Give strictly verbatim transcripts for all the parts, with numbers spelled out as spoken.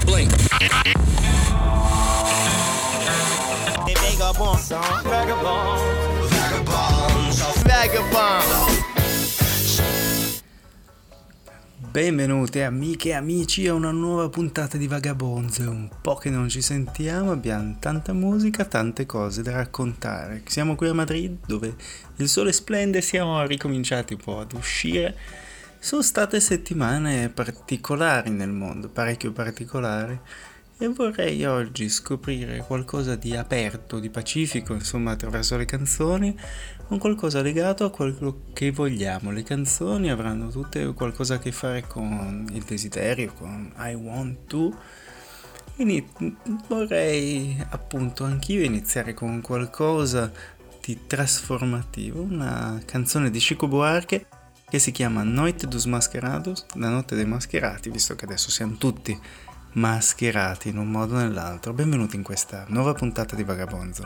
Blink. Vagabonds, vagabonds, vagabonds, vagabonds. Benvenuti amiche e amici a una nuova puntata di Vagabonds. È un po' che non ci sentiamo, abbiamo tanta musica, tante cose da raccontare. Siamo qui a Madrid dove il sole splende, siamo ricominciati un po' ad uscire. Sono state settimane particolari nel mondo, parecchio particolari, e vorrei oggi scoprire qualcosa di aperto, di pacifico, insomma, attraverso le canzoni, un qualcosa legato a quello che vogliamo. Le canzoni avranno tutte qualcosa a che fare con il desiderio, con I want to. Quindi vorrei appunto anch'io iniziare con qualcosa di trasformativo, una canzone di Chico Buarque che si chiama Noite dos Mascarados, la notte dei mascherati, visto che adesso siamo tutti mascherati in un modo o nell'altro. Benvenuti in questa nuova puntata di Vagabonzo.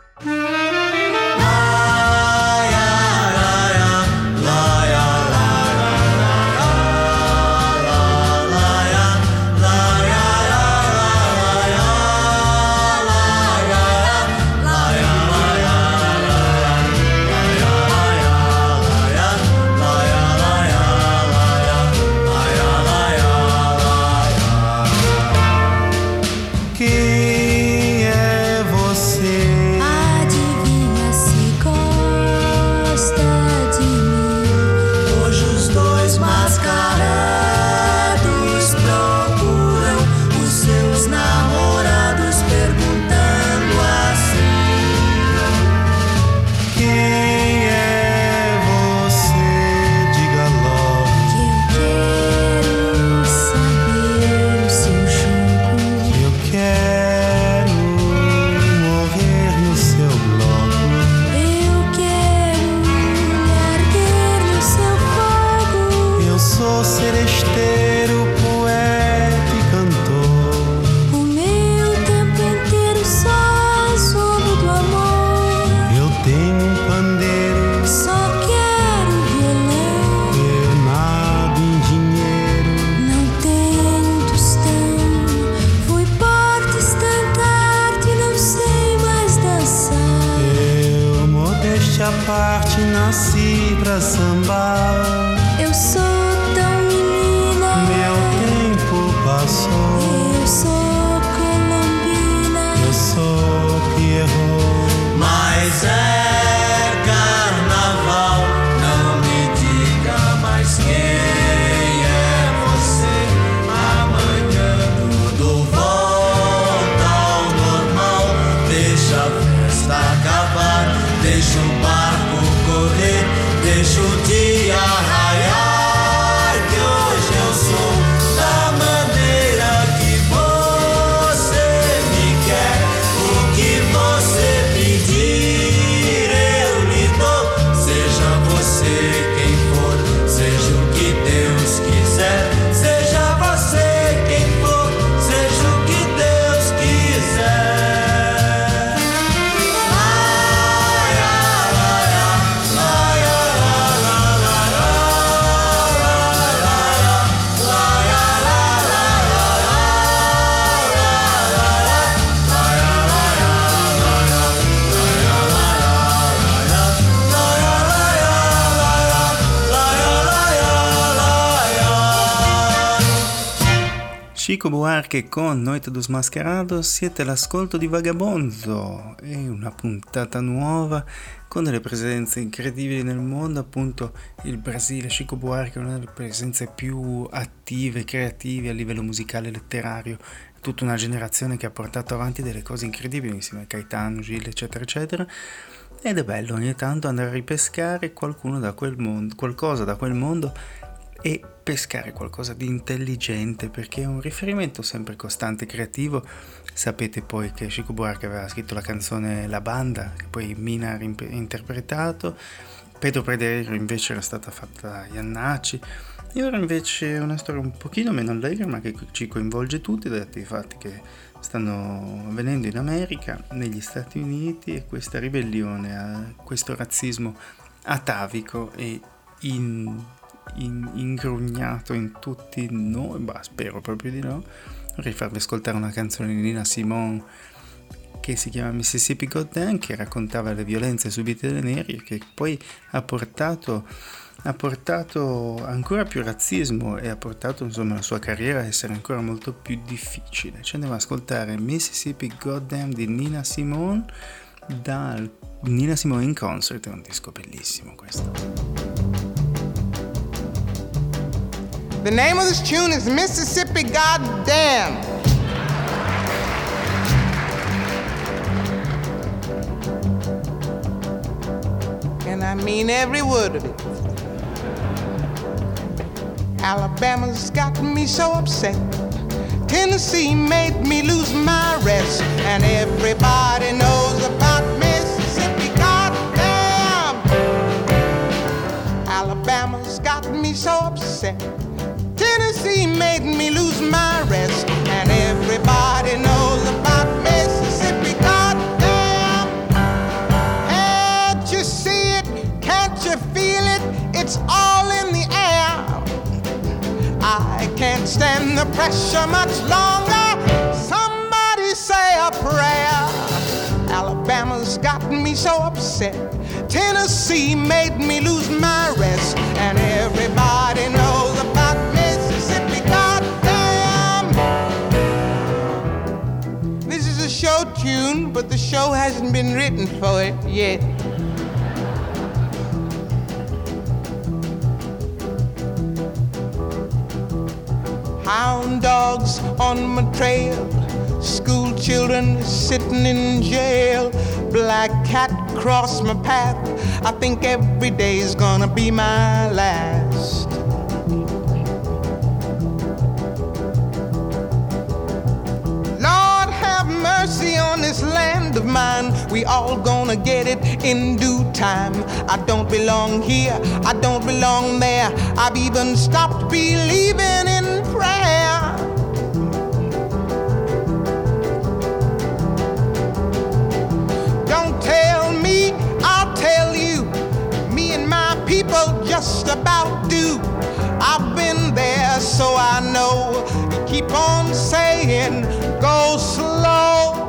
Parte nasci pra sambar. Eu sou tão menina. Meu tempo passou. Eu sou colombina. Eu sou Pierrot. Mas é carnaval, não me diga mais quem é você. Amanhã tudo volta ao normal. Deixa a festa acabar, deixa o barco correr, deixa o dia raiar, que hoje eu sou da maneira que você me quer. O que você pedir eu lhe dou, seja você quem for, seja o que Deus quiser. Seja você quem for, seja o que Deus quiser. Chico Buarque con Noite dos Mascarados, siete all'ascolto di Vagabonzo, è una puntata nuova con delle presenze incredibili nel mondo. Appunto il Brasile, Chico Buarque è una delle presenze più attive, creative a livello musicale e letterario, tutta una generazione che ha portato avanti delle cose incredibili insieme a Caetano, Gil, eccetera eccetera, ed è bello ogni tanto andare a ripescare qualcuno da quel mondo, qualcosa da quel mondo, e pescare qualcosa di intelligente, perché è un riferimento sempre costante, creativo. Sapete poi che Chico Buarque aveva scritto la canzone La Banda, che poi Mina ha interpretato, Pedro Prederio invece era stata fatta da Iannacci, e ora invece è una storia un pochino meno allegra, ma che ci coinvolge tutti, dati i fatti che stanno avvenendo in America, negli Stati Uniti, e questa ribellione a questo razzismo atavico e in in, ingrugnato in tutti noi, bah, spero proprio di no. Vorrei farvi ascoltare una canzone di Nina Simone che si chiama Mississippi Goddamn, che raccontava le violenze subite dai neri e che poi ha portato, ha portato ancora più razzismo e ha portato insomma la sua carriera a essere ancora molto più difficile. Ci andiamo ad ascoltare Mississippi Goddamn di Nina Simone dal Nina Simone in Concert, è un disco bellissimo questo. The name of this tune is Mississippi Goddamn. And I mean every word of it. Alabama's got me so upset. Tennessee made me lose my rest. And everybody knows about Mississippi, goddamn. Alabama's got me so upset. Tennessee made me lose my rest. And everybody knows about Mississippi, goddamn. Can't you see it? Can't you feel it? It's all in the air. I can't stand the pressure much longer. Somebody say a prayer. Alabama's got me so upset. Tennessee made me lose my rest. And everybody knows about Mississippi, goddamn. This is a show tune, but the show hasn't been written for it yet. Hound dogs on my trail, school children sitting in jail, black cat cross my path. I think every day's gonna be my last. Lord have mercy on this land of mine. We all gonna get it in due time. I don't belong here, I don't belong there. I've even stopped believing in prayer. Don't tell me, I'll tell you. Me and my people just about do. I've been there, so I know. You keep on saying, go slow.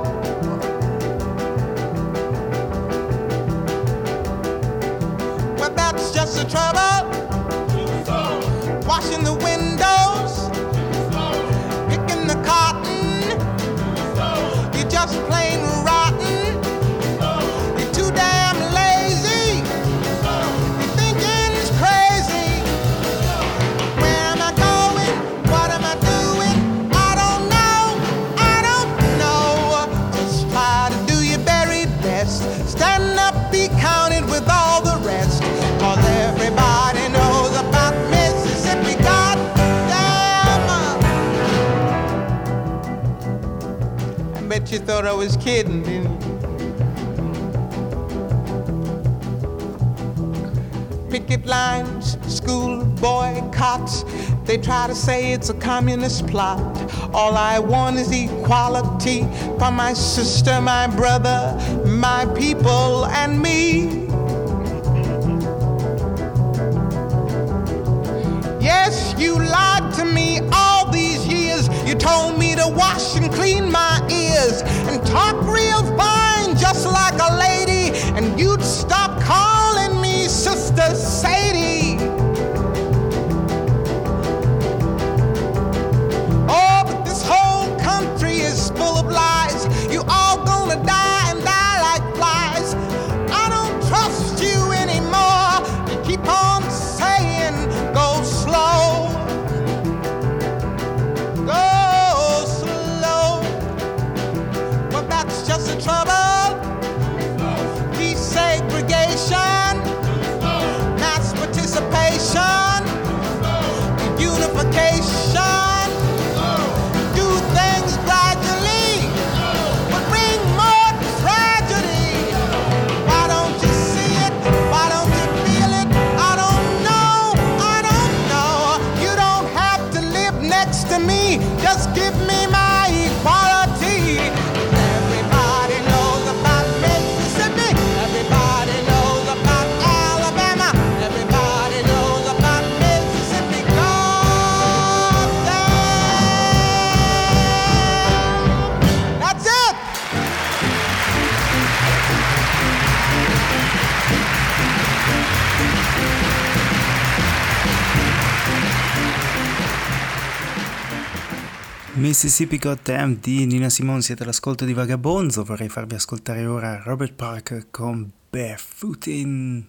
Well, that's just the trouble. Washing the windows, picking the cotton. You're just plain rotten. You're too damn lazy. Your thinking's crazy. Where am I going? What am I doing? I don't know. I don't know. Just try to do your very best. Stand up, be counted with all the rest. 'Cause everybody knows about Mississippi, goddamn. I bet you thought I was kidding, didn't you? Picket lines, school boycotts. They try to say it's a communist plot. All I want is equality for my sister, my brother, my people, and me. Yes, you lied to me all these years. You told me to wash and clean my ears and talk real fine, just like a lady, and you'd stop calling me Sister Sadie. Oh, but this whole country is full of lies. You all gonna die and die like flies. I don't trust you anymore. You keep on saying, go slow. Go slow. Well, that's just the trouble. Desegregation, mass participation, unification. Do things gradually, but bring more tragedy. Why don't you see it? Why don't you feel it? I don't know. I don't know. You don't have to live next to me. Just give me my equality. Everybody knows about Mississippi. Everybody knows about Alabama. Everybody knows about Mississippi. Mississippi Got Talent di Nina Simone, siete all'ascolto di Vagabonzo. Vorrei farvi ascoltare ora Robert Parker con Barefootin'.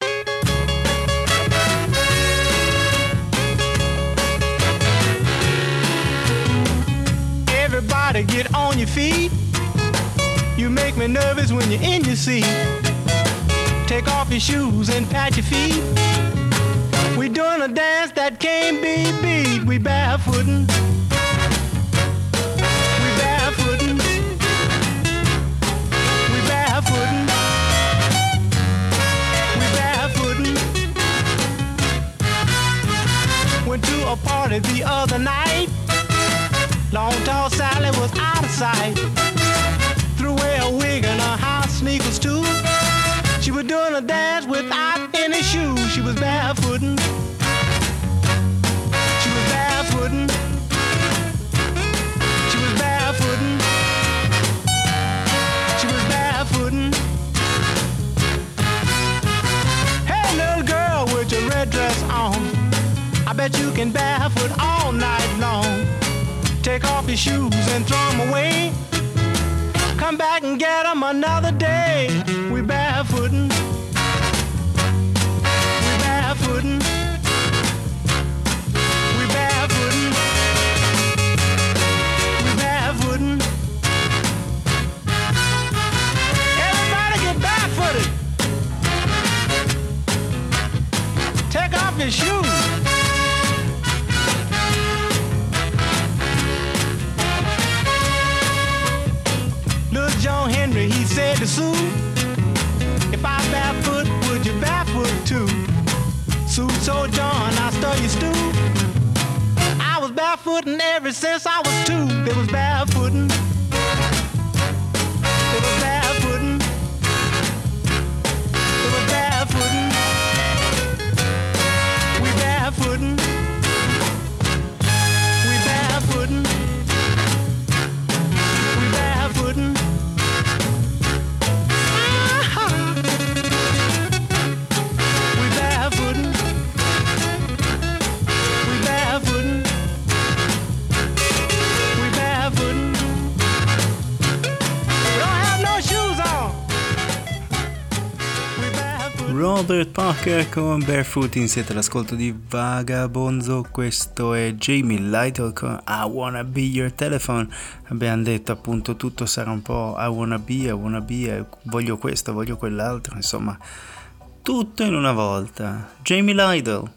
Everybody get on your feet. You make me nervous when you're in your seat. Take off your shoes and pat your feet. We doing a dance that can't be beat. We barefootin'. Went to a party the other night. Long tall Sally was out of sight. Threw away a wig and her house sneakers too. She was doing a dance without any shoes. She was barefootin'. She was barefootin'. She was barefootin'. She was barefootin'. Hey little girl with your red dress on, I bet you can barefoot all night long. Take off your shoes and throw them away. Come back and get them another day. We barefootin'. We barefootin'. We barefootin'. We barefootin'. Everybody get barefooted. Take off your shoes. John Henry, he said to Sue, if I barefoot, would you barefoot too? Sue told John, I stir your stew. I was barefooting ever since I was two. They was barefooting. They was barefooting. They was barefooting. We barefooting. We barefooting. We barefooting. Robert Parker con Barefootin', siete all'ascolto di Vagabonzo. Questo è Jamie Lytle con I Wanna Be Your Telephone. Abbiamo detto appunto tutto sarà un po' I wanna be, I wanna be, voglio questo, voglio quell'altro, insomma tutto in una volta. Jamie Lytle.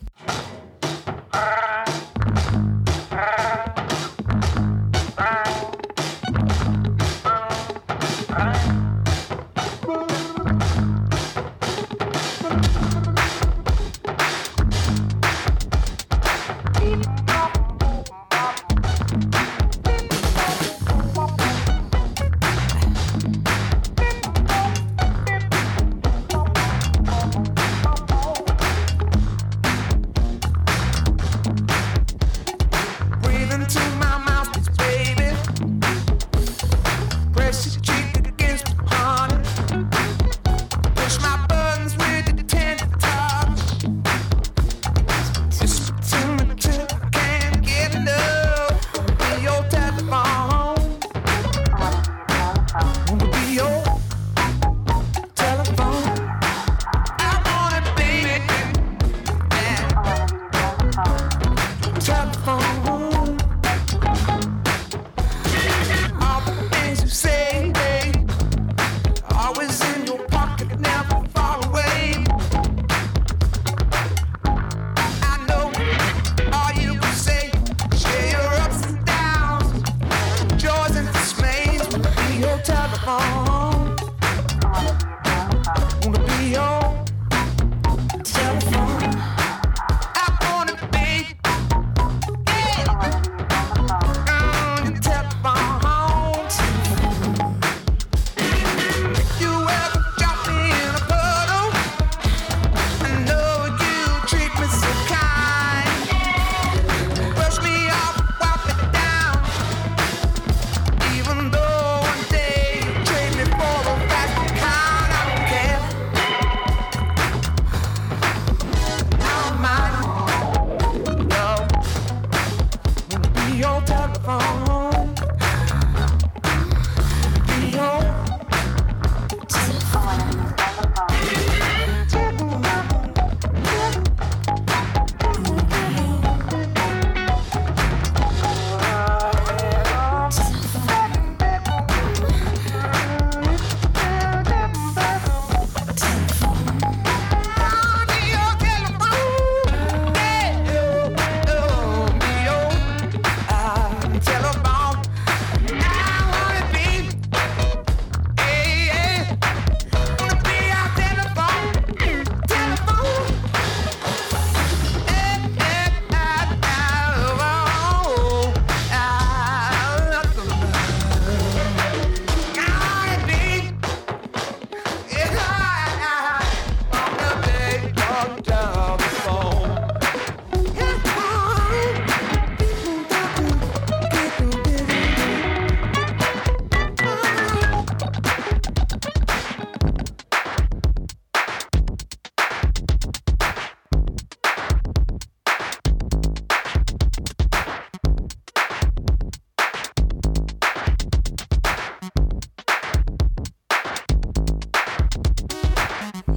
your telephone.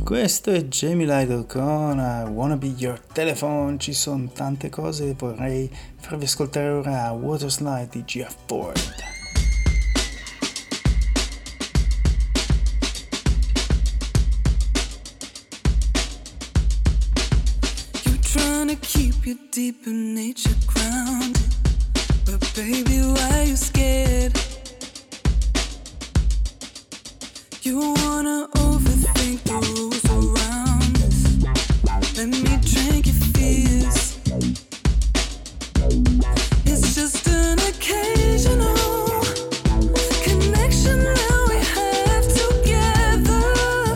Questo è Jamie Lytle con I Wanna Be Your Telephone. Ci sono tante cose, vorrei farvi ascoltare ora Waterslide di Jeff Ford. You're trying to keep your deeper nature grounded, but baby, why you scared? You wanna overthink the rules around us. Let me drink your fears. It's just an occasional connection that we have together.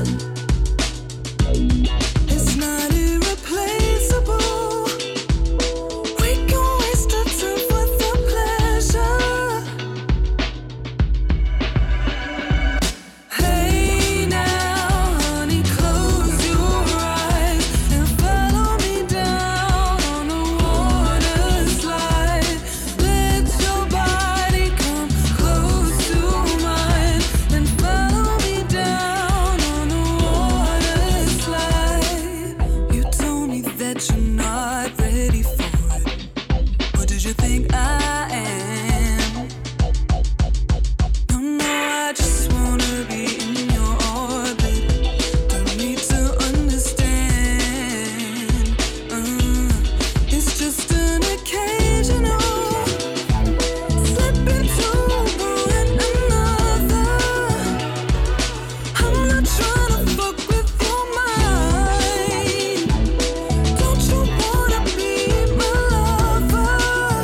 It's not irreplaceable. We can waste our time for the pleasure. Hey now, honey, close your eyes and follow me down on the water slide. Let your body come close to mine and follow me down on the water slide. You told me that you're not ready for it. Or did you think I am? No, no, I just wanna be in your orbit. Don't need to understand. Uh, it's just an occasional slip into one another. I'm not trying to fuck with your mind. Don't you wanna be my lover?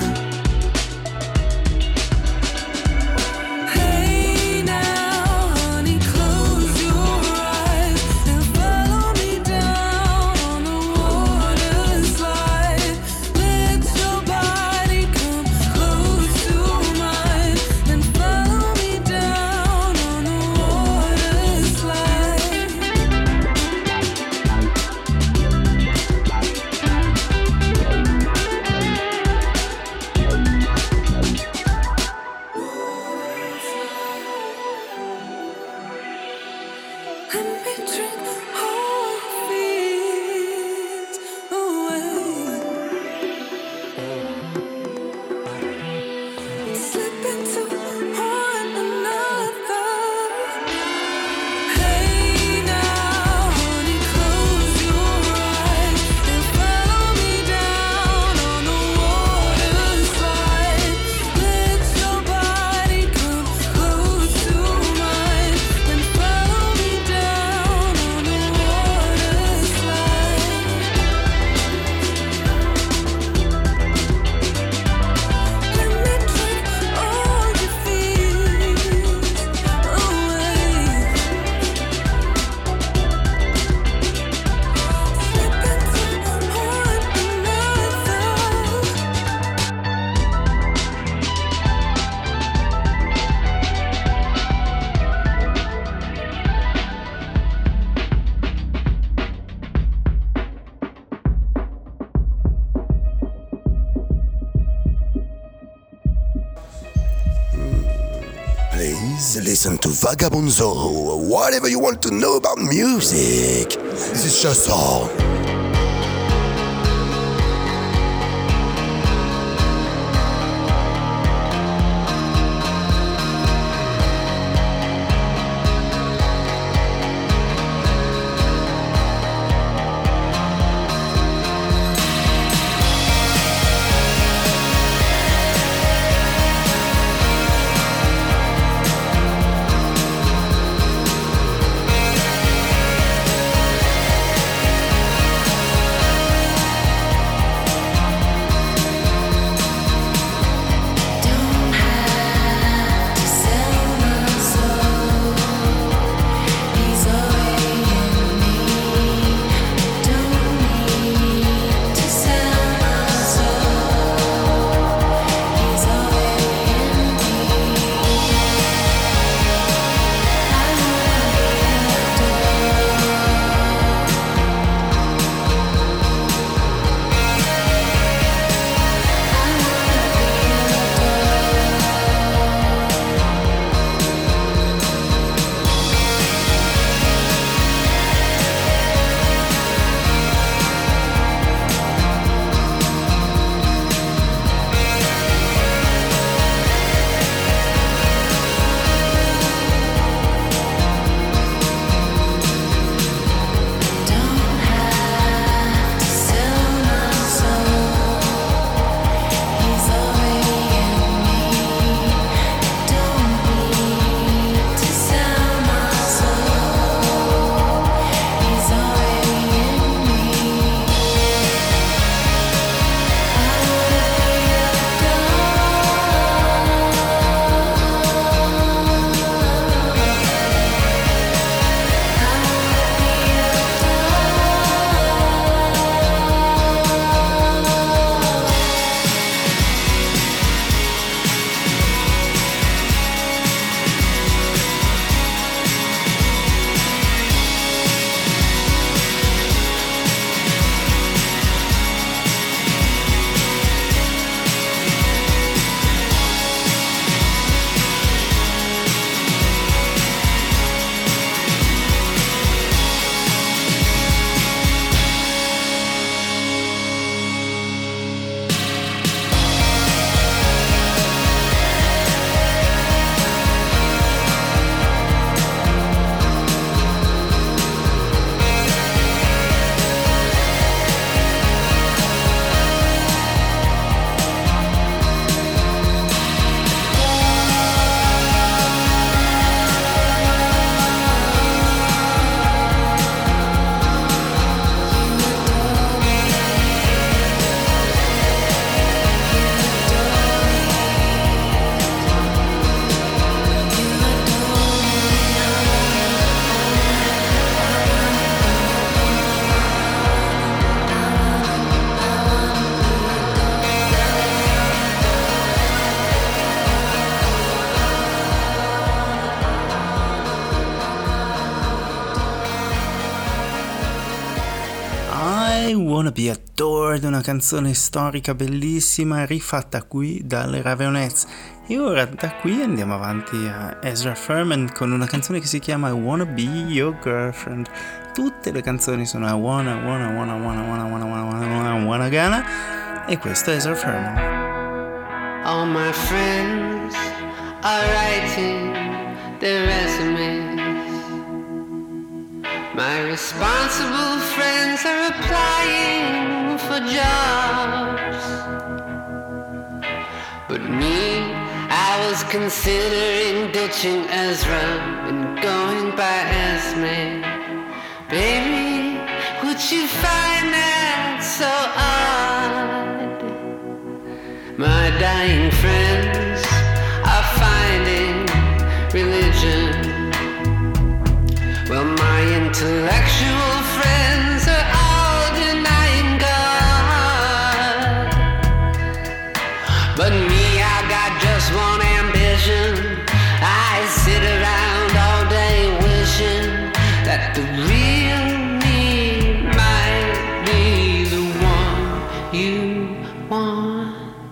Hey now, honey, close your eyes and follow me down on the water slide. Let your body come close to mine and follow me down on the water slide. Let me drink all your fears away. Slip into one another. Hey now, honey, close your eyes and follow me down on the water slide. Let your body come close to mine and follow me down on the water slide. Let me drink all your fears away. Slip into one another. Please listen to Vagabond Zorro. Whatever you want to know about music, this is your song. Hey Wanna Be Adored, una canzone storica bellissima rifatta qui dalle Raveonettes. E ora da qui andiamo avanti a Ezra Furman con una canzone che si chiama I Wanna Be Your Girlfriend. Tutte le canzoni sono I Wanna, Wanna, Wanna, Wanna, Wanna, Wanna, Wanna, Wanna, Wanna, Wanna, Gonna, e questo è Ezra Furman. All my friends are writing their resumes. My responsible friends are applying for jobs. But me, I was considering ditching Ezra and going by Esme. Baby, would you find that so odd? My dying friends are finding religion. Well, my intellectual friends are all denying God. But me, I got just one ambition. I sit around all day wishing that the real me might be the one you want.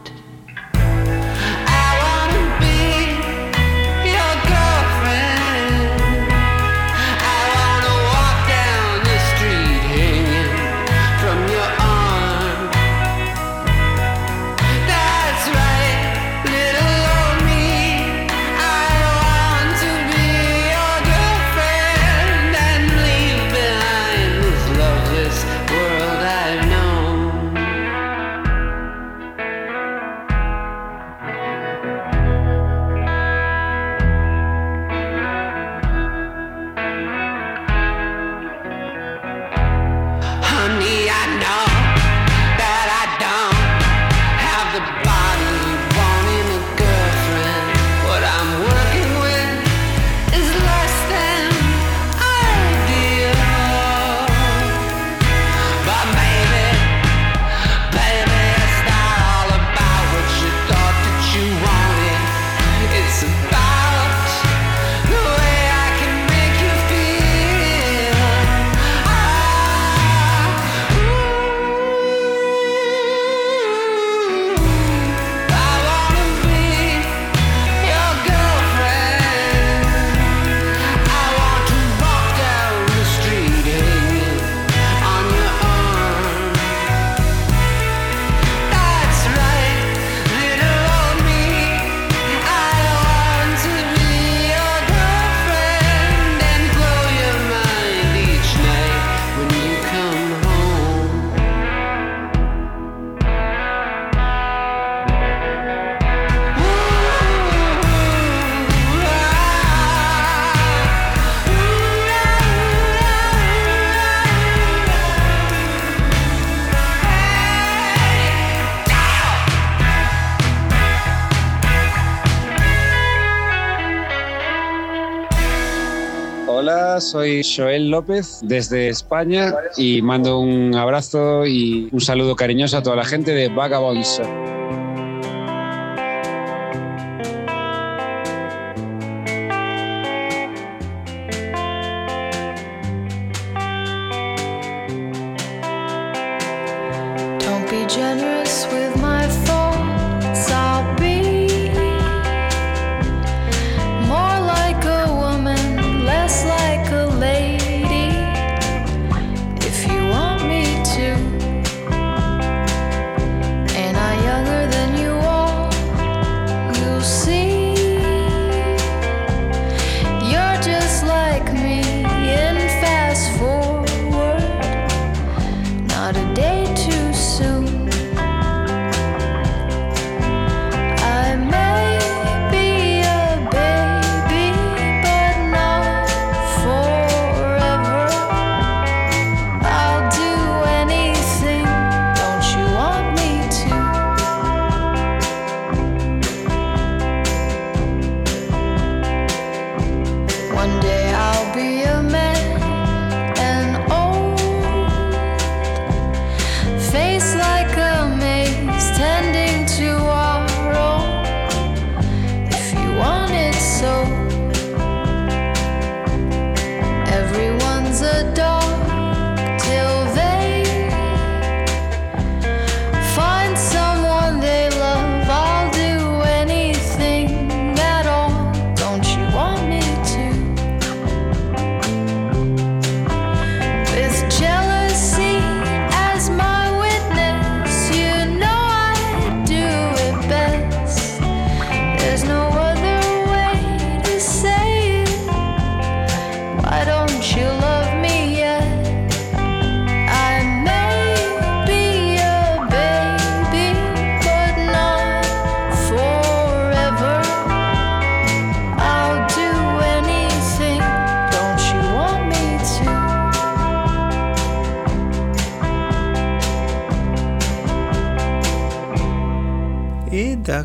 Hola, soy Joel López desde España y mando un abrazo y un saludo cariñoso a toda la gente de Vagabonds. Don't be generous with my thoughts. I'll be more like a woman, less like a lady. If you want me to, and I younger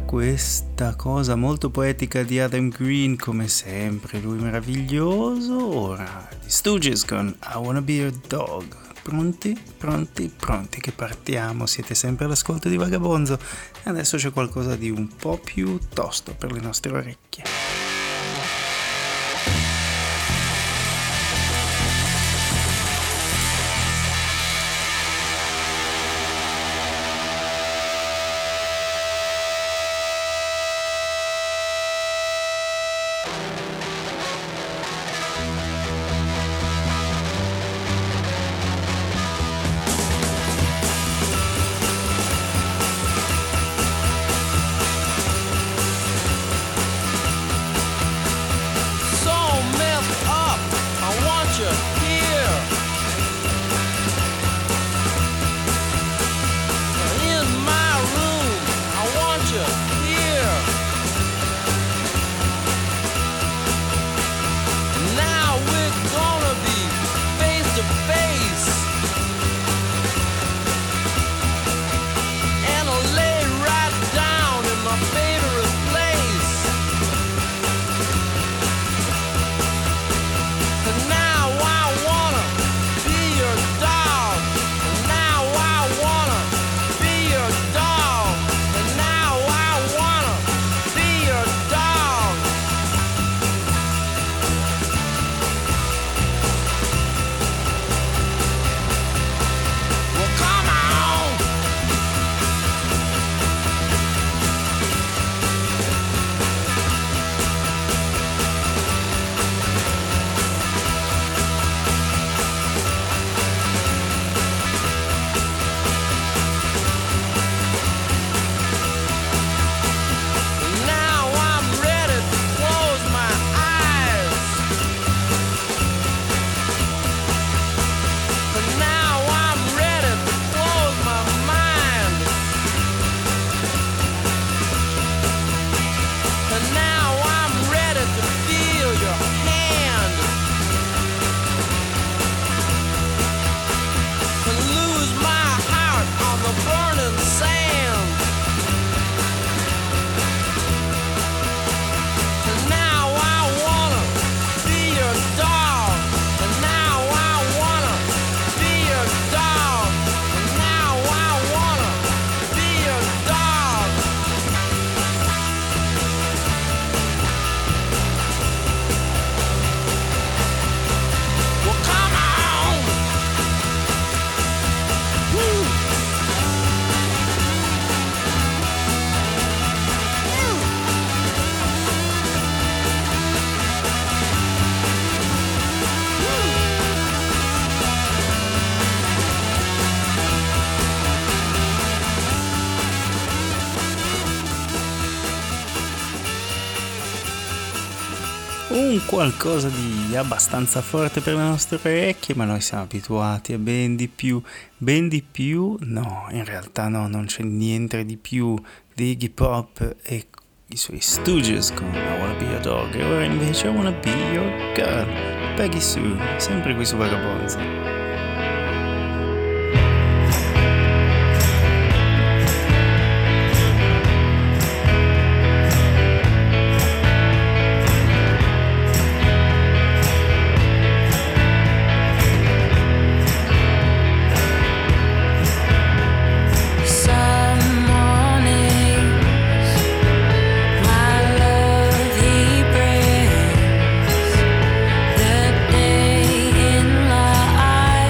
questa cosa molto poetica di Adam Green, come sempre, lui meraviglioso. Ora, gli Stooges con I Wanna Be Your Dog. Pronti? Pronti? Pronti che partiamo, siete sempre all'ascolto di Vagabonzo. Adesso c'è qualcosa di un po' più tosto per le nostre orecchie. Un qualcosa di abbastanza forte per le nostre orecchie, ma noi siamo abituati a ben di più. Ben di più? No, in realtà no, non c'è niente di più di Iggy Pop e i suoi Stooges con I Wanna Be Your Dog. E ora invece I Wanna Be Your Girl, Peggy Sue, sempre qui su Vagabonzo. I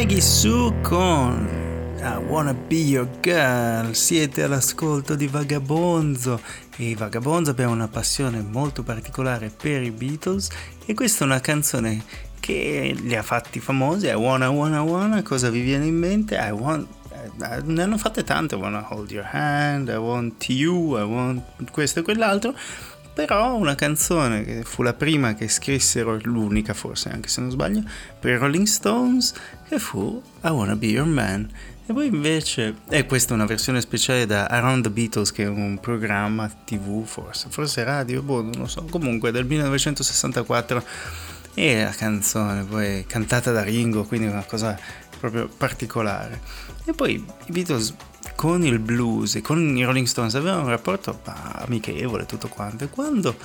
Maggie Sue con I Wanna Be Your Girl. Siete all'ascolto di Vagabonzo e i Vagabonzo abbiamo una passione molto particolare per i Beatles e questa è una canzone che li ha fatti famosi. I wanna, wanna, wanna, cosa vi viene in mente? I want, ne hanno fatte tante. I wanna hold your hand, I want you, I want questo e quell'altro. Però una canzone che fu la prima che scrissero, l'unica forse anche se non sbaglio, per i Rolling Stones, che fu I Wanna Be Your Man. E poi invece, e questa è una versione speciale da Around the Beatles, che è un programma tv forse, forse radio, boh, non lo so, comunque del millenovecentosessantaquattro, e la canzone poi cantata da Ringo, quindi una cosa proprio particolare. E poi i Beatles con il blues e con i Rolling Stones avevano un rapporto amichevole, tutto quanto, e quando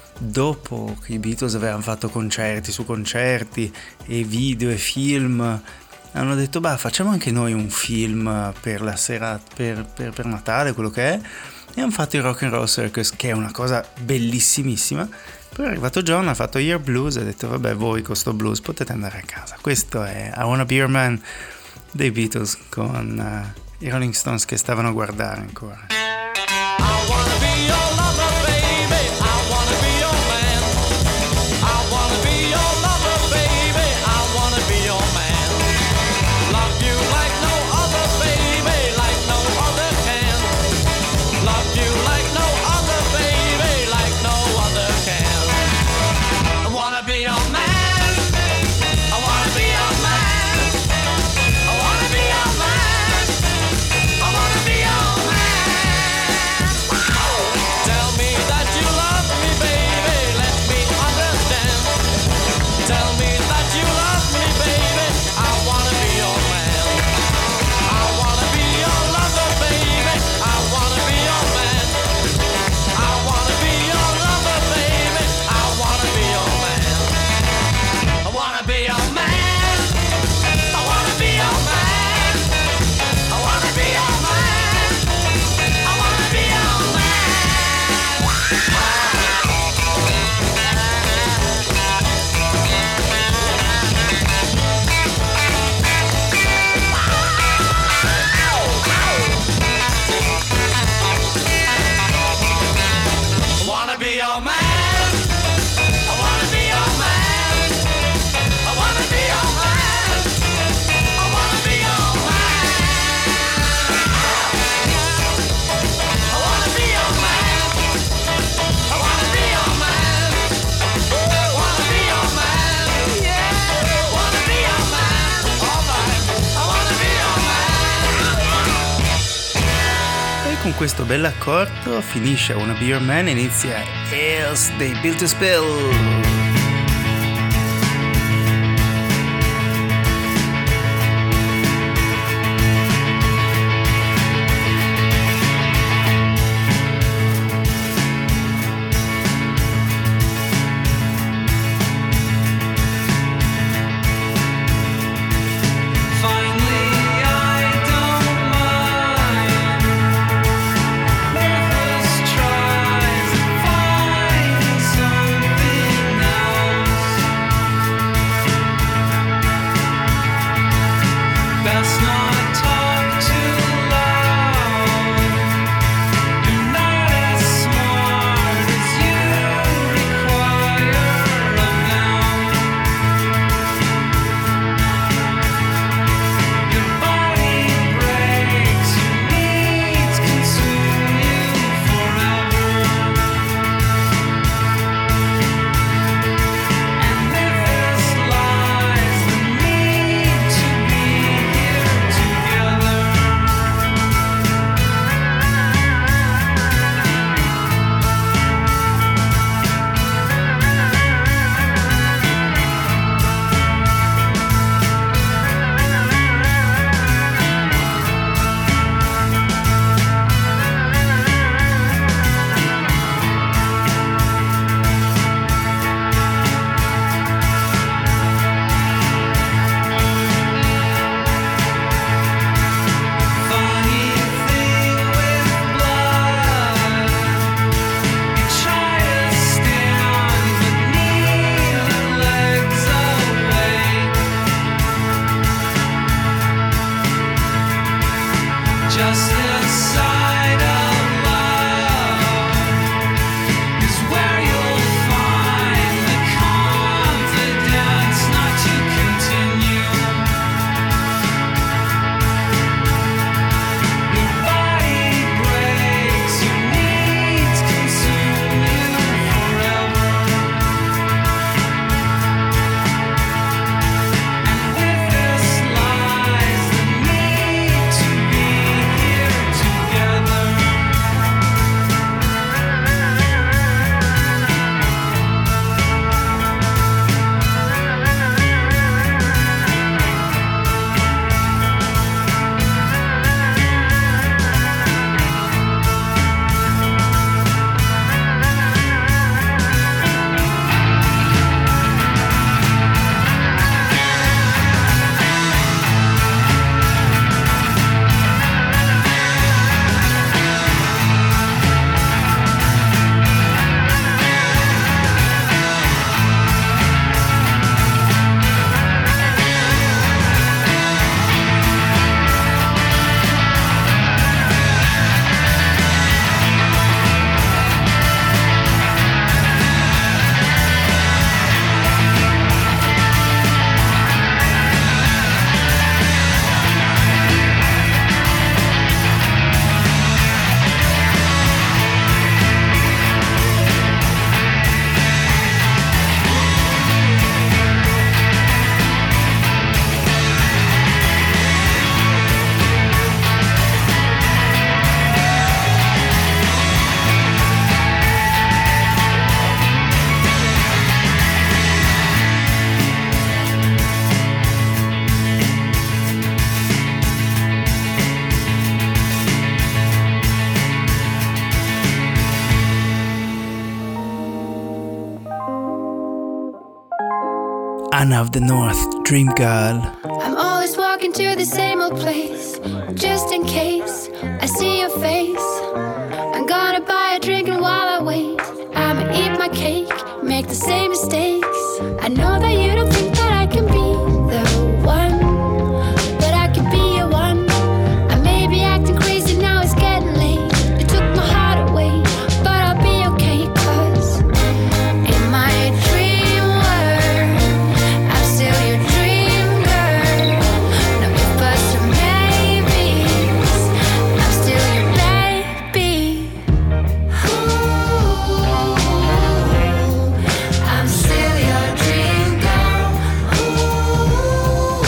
dopo che i Beatles avevano fatto concerti su concerti e video e film hanno detto bah, facciamo anche noi un film per la sera, per, per, per Natale, quello che è, e hanno fatto il Rock and Roll Circus, che è una cosa bellissimissima. Poi è arrivato John, ha fatto Year Blues e ha detto vabbè, voi con sto blues potete andare a casa. Questo è I Wanna Be Your Man dei Beatles con uh, i Rolling Stones che stavano a guardare ancora. I wanna be your lover, baby. I wanna be your man. I wanna be your lover, baby. I wanna be your man. Love you like no other, baby, like no other can. Love you like no other, baby, like no other can. I wanna be your man. I wanna be your man. I wanna be your man. I wanna be your man. Tell me that you love me, baby. Let me understand. Tell me that you love me, baby. I wanna be your man. I wanna be your lover, baby. I wanna be your man. I wanna be your lover, baby. I wanna be your man. I wanna be your man. I wanna be your man. I wanna be your man. I wanna be your man. I wanna be your man. I wanna be your man. I wanna be your man. I wanna be your man. I wanna be your man. I wanna be your man. I wanna be your man. Yeah. I wanna be your man. All right. I wanna be your man. E con questo bell'accordo finisce I Wanna Be Your Man e inizia Else They Built to Spill. Finally, I don't mind. Nervous tries finding something Anna of the North, Dream Girl. I'm always walking to the same old place, just in case I see your face. I'm gonna buy a drink and while I wait, I'ma eat my cake, make the same mistakes. I know that you don't think that I can be the one, but I can be your one. I may be acting crazy now, it's getting late. You took my heart away, but I'll be okay, 'cause in my dream world, I'm still your dream girl. No ifs, buts, or maybes, I'm still your baby. Ooh, I'm still your dream girl. Ooh,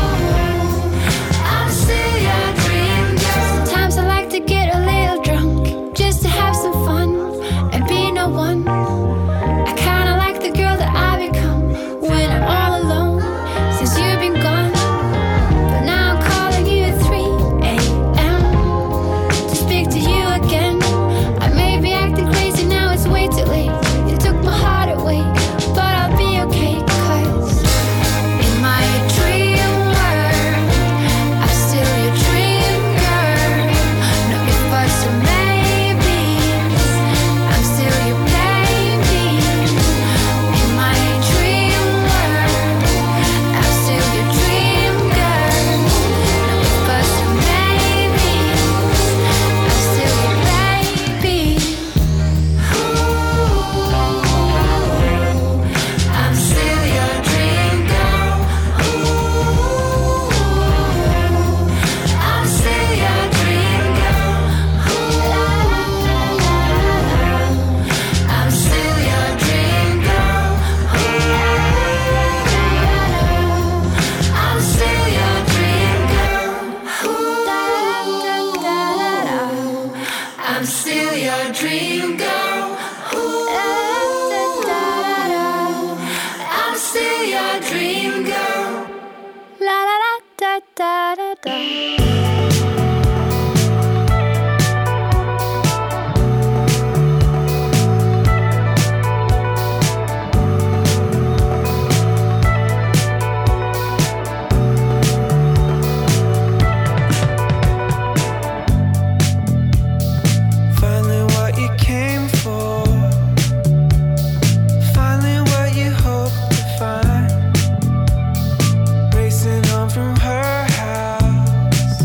I'm still your dream girl. Sometimes I like to get a little drunk, just to have some fun and be no one. I kinda like the girl that I become when I'm all alone, since you've been gone. But now I'm calling you at three a.m. to speak to you again. I may be acting crazy now, it's way too late. You took my heart away, but I'll be okay, 'cause in my dream world, I'm still your dream girl. No ifs, buts, or maybes, I'm still your baby. In my dream world, I'm still your dream girl. No ifs, buts, or maybes, I'm still your baby. Ooh, I'm still your dream girl. Ooh, I'm still your dream girl. Ooh, I'm still your dream girl. Ooh, I'm still your dream girl. Ooh, I'm still your dream girl. Ooh, I'm still your dream girl. La la la da da da da. Finally what you came for, finally what you hoped to find. Racing home from her house,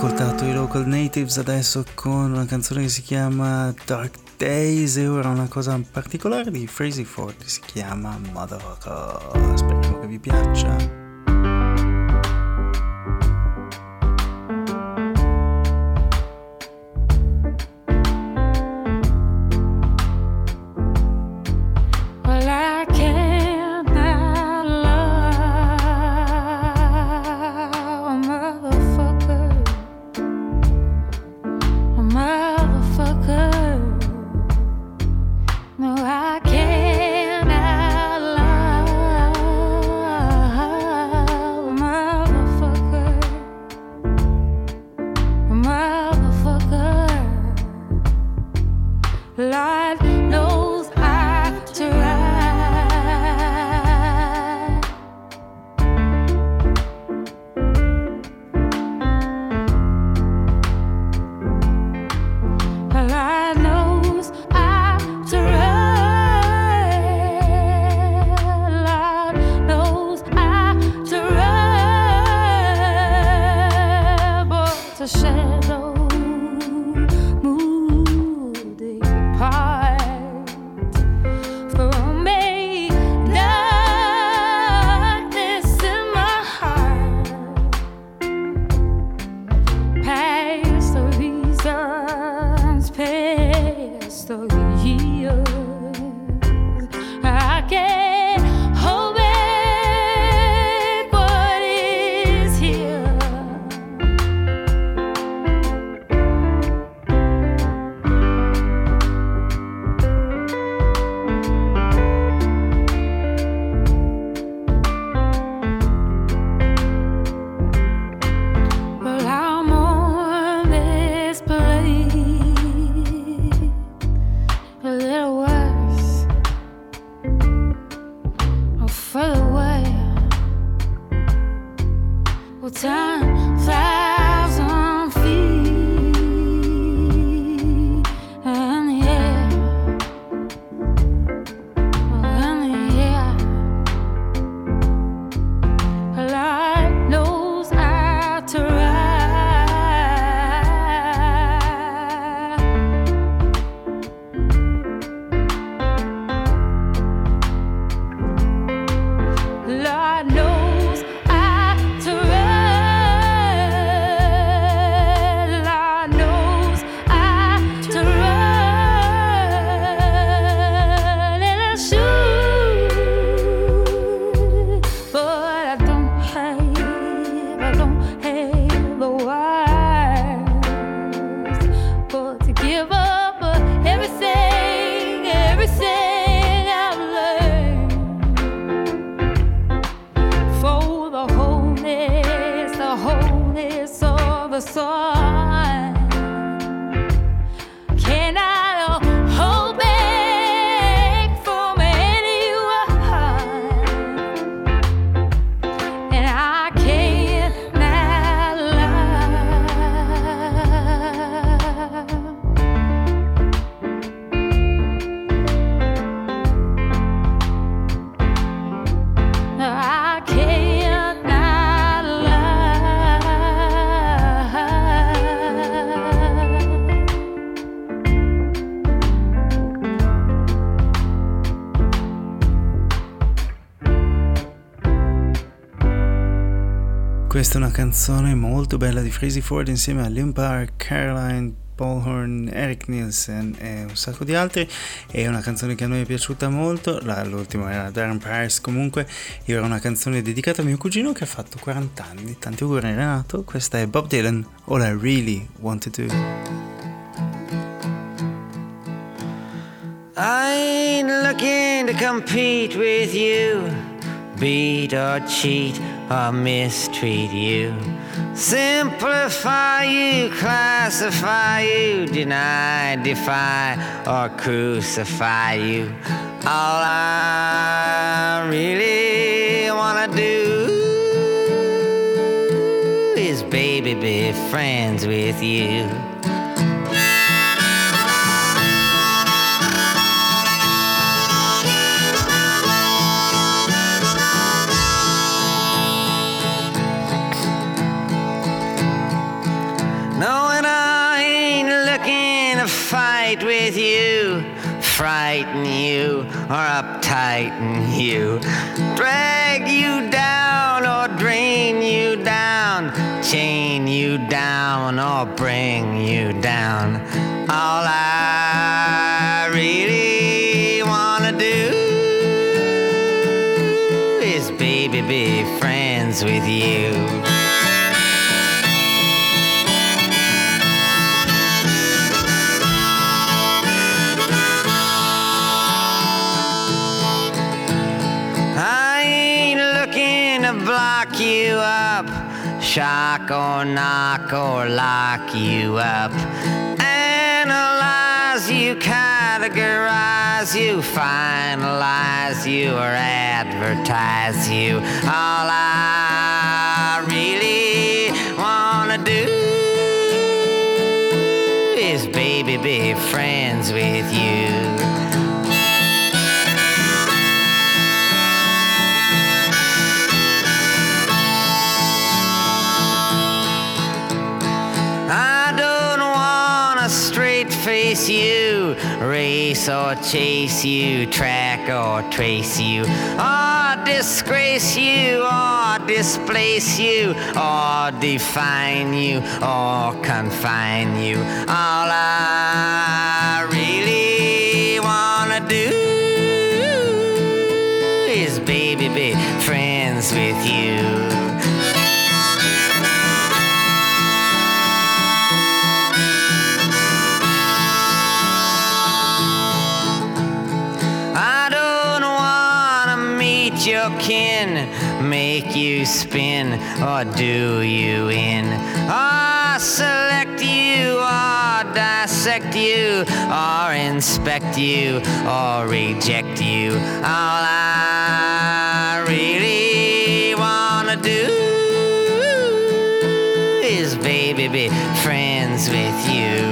ascoltato i Local Natives adesso con una canzone che si chiama Dark Days e ora una cosa particolare di Frazzy Ford, si chiama Motherfucker. Speriamo che vi piaccia. Questa è una canzone molto bella di Frazzy Ford insieme a Limpar, Caroline Ballhorn, Eric Nielsen e un sacco di altri. È una canzone che a noi è piaciuta molto. La, l'ultima era Darren Price. Comunque era una canzone dedicata a mio cugino che ha fatto quaranta anni. Tanti auguri Renato. Questa è Bob Dylan, All I Really Want to Do. I ain't looking to compete with you, beat or cheat or mistreat you, simplify you, classify you, deny, defy or crucify you. All I really wanna do is, baby, be friends with you. with you, frighten you, or uptighten you, drag you down or drain you down, chain you down or bring you down. All I really wanna do is, baby, be friends with you. I ain't looking to block you up, shock or knock or lock you up, analyze you, categorize you, finalize you, or advertise you. All I really wanna do is, baby, be friends with you. Face you, race or chase you, track or trace you, or disgrace you, or displace you, or define you, or confine you. All I really wanna do is, baby, be friends with you. Your kin, make you spin or do you in, or select you or dissect you or inspect you or reject you. All I really wanna do is, baby, be friends with you.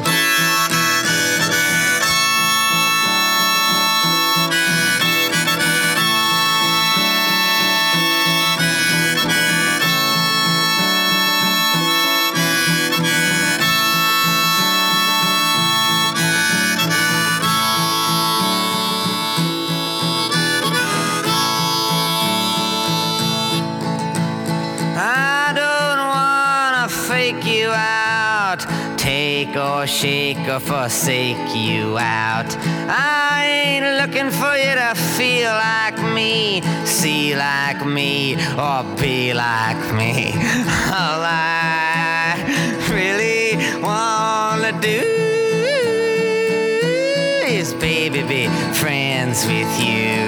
You out, take or shake or forsake you out. I ain't looking for you to feel like me, see like me, or be like me. All I really wanna do is, baby, be friends with you.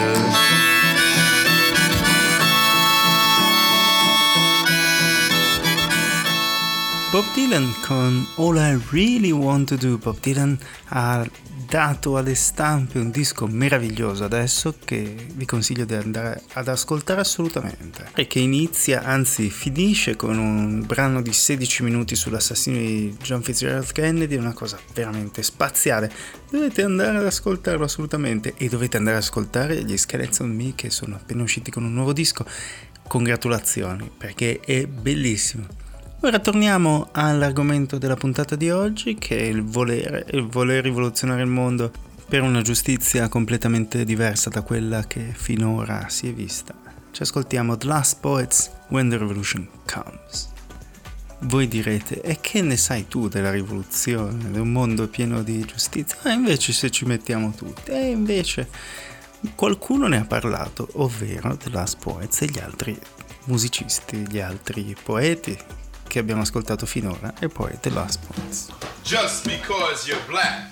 Bob Dylan con All I Really Want to Do. Bob Dylan ha dato alle stampe un disco meraviglioso adesso che vi consiglio di andare ad ascoltare assolutamente, e che inizia, anzi finisce, con un brano di sedici minuti sull'assassino di John Fitzgerald Kennedy, una cosa veramente spaziale. Dovete andare ad ascoltarlo assolutamente, e dovete andare ad ascoltare gli Skeleton Me, che sono appena usciti con un nuovo disco. Congratulazioni, perché è bellissimo. Ora torniamo all'argomento della puntata di oggi, che è il volere, il voler rivoluzionare il mondo per una giustizia completamente diversa da quella che finora si è vista. Ci ascoltiamo The Last Poets, When the Revolution Comes. Voi direte, e che ne sai tu della rivoluzione, di un mondo pieno di giustizia? Ma invece se ci mettiamo tutti, e invece qualcuno ne ha parlato, ovvero The Last Poets e gli altri musicisti, gli altri poeti che abbiamo ascoltato finora, e poi The Last Poets. Just because you're black,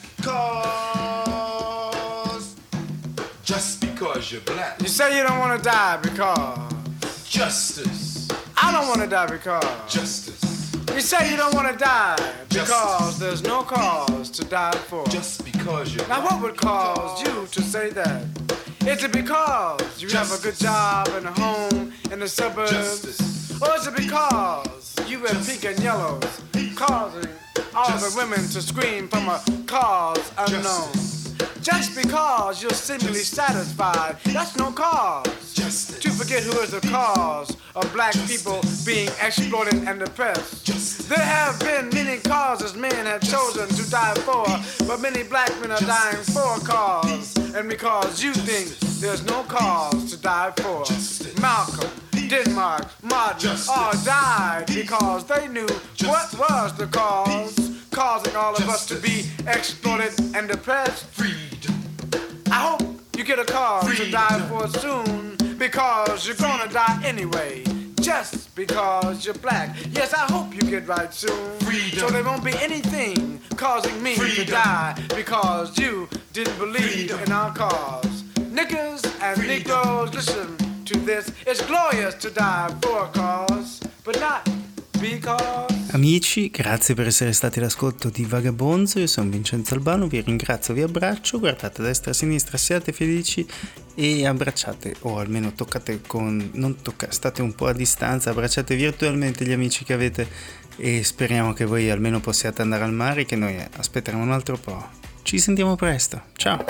cause just because you're black. You say you don't want to die because justice. I don't want to die because justice. You say you don't want to die because justice. There's no cause to die for. Just because you're now black. What would cause you to say that? Is it because you justice. Have a good job and a home in the suburbs? Justice. Or is it because you wear pink and yellows, causing all justice. The women to scream from a cause unknown? Justice. Just because you're seemingly satisfied, that's no cause Justice. To forget who is the cause of black Justice. People being exploited and oppressed. Justice. There have been many causes men have chosen to die for, but many black men are Justice. Dying for a cause, and because you think there's no cause to die for. Justice. Malcolm, Denmark, Martin Justice. All died because they knew Justice. What was the cause, causing all of Justice. Us to be exploited and depressed. Freedom. I hope you get a cause Freedom. To die for soon, because you're gonna die anyway, just because you're black. Yes, I hope you get right soon, Freedom. So there won't be anything causing me Freedom. To die, because you didn't believe Freedom. In our cause. Niggers and Freedom. Negroes, listen to this. It's glorious to die for a cause, but not because. Amici, grazie per essere stati all'ascolto di Vagabonzo. Io sono Vincenzo Albano, vi ringrazio, vi abbraccio, guardate a destra e a sinistra, siate felici e abbracciate, o almeno toccate con, non toccate, state un po' a distanza, abbracciate virtualmente gli amici che avete e speriamo che voi almeno possiate andare al mare, che noi aspetteremo un altro po'. Ci sentiamo presto, ciao!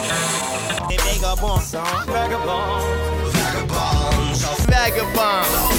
Vagabond, vagabond, vagabond.